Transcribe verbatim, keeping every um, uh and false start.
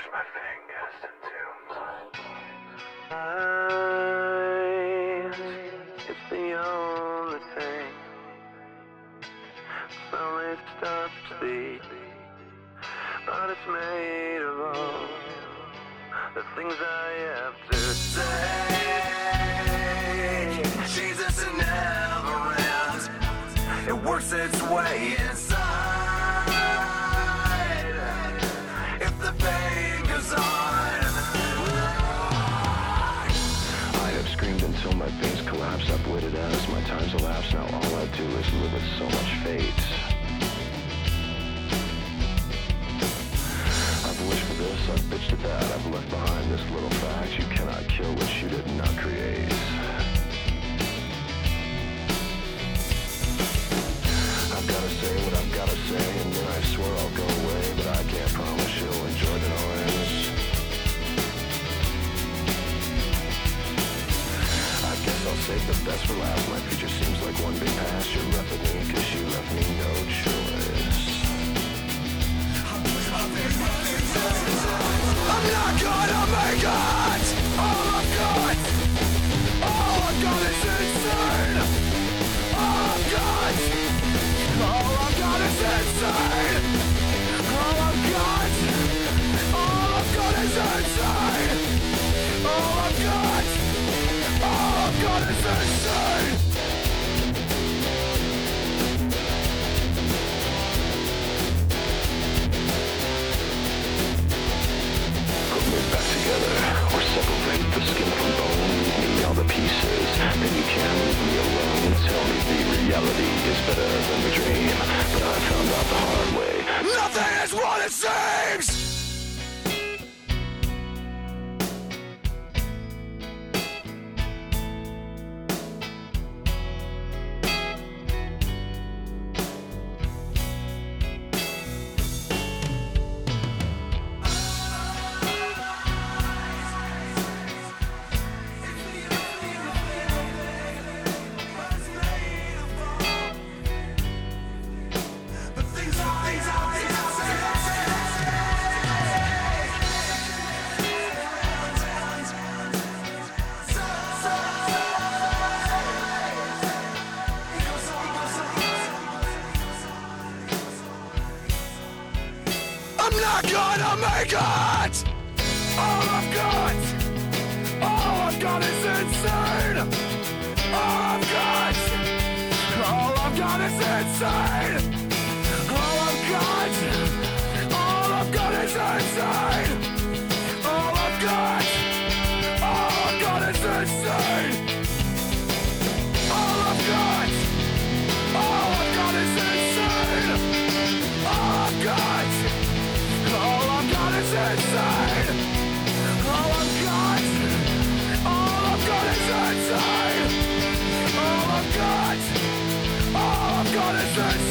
my fingers into eyes. It's the only thing. Slowly stops beating, but it's made of all the things I have to say. Jesus, it never ends. It works its way inside. If the pain goes on, I have screamed until my veins collapse. I've waited as my time's elapsed. Now all I do is live with so much fate. I've wished for this, I've bitched at that. I've left behind this little fact: you cannot kill what you did not create. I've gotta say what I've gotta say, and then I swear I'll go away, but I can't promise you'll enjoy the noise. I guess I'll save the best for last. My future seems like one big past. You left with me cause you left me no choice. I'm not gonna make it! All I've got, all I've got is insane! All I've got, all I've got is insane! All I've got, all I've got is insane! All I've got, all I've got is insane! Back together, or separate the skin from bone. Leave me all the pieces, then you can leave me alone. Tell me the reality is better than the dream, but I found out the hard way. Nothing is what it seems! I'm not gonna make it! All I've got, all I've got is insane! All I've got, all I've got is insane! All I've got, all I've got is insane! All I've got, all I've got is insane! All I've got, all I've got is insane! All I've got, all I've got is insane! All I've got, all I've got is insane! All I've got, all I've got is insane!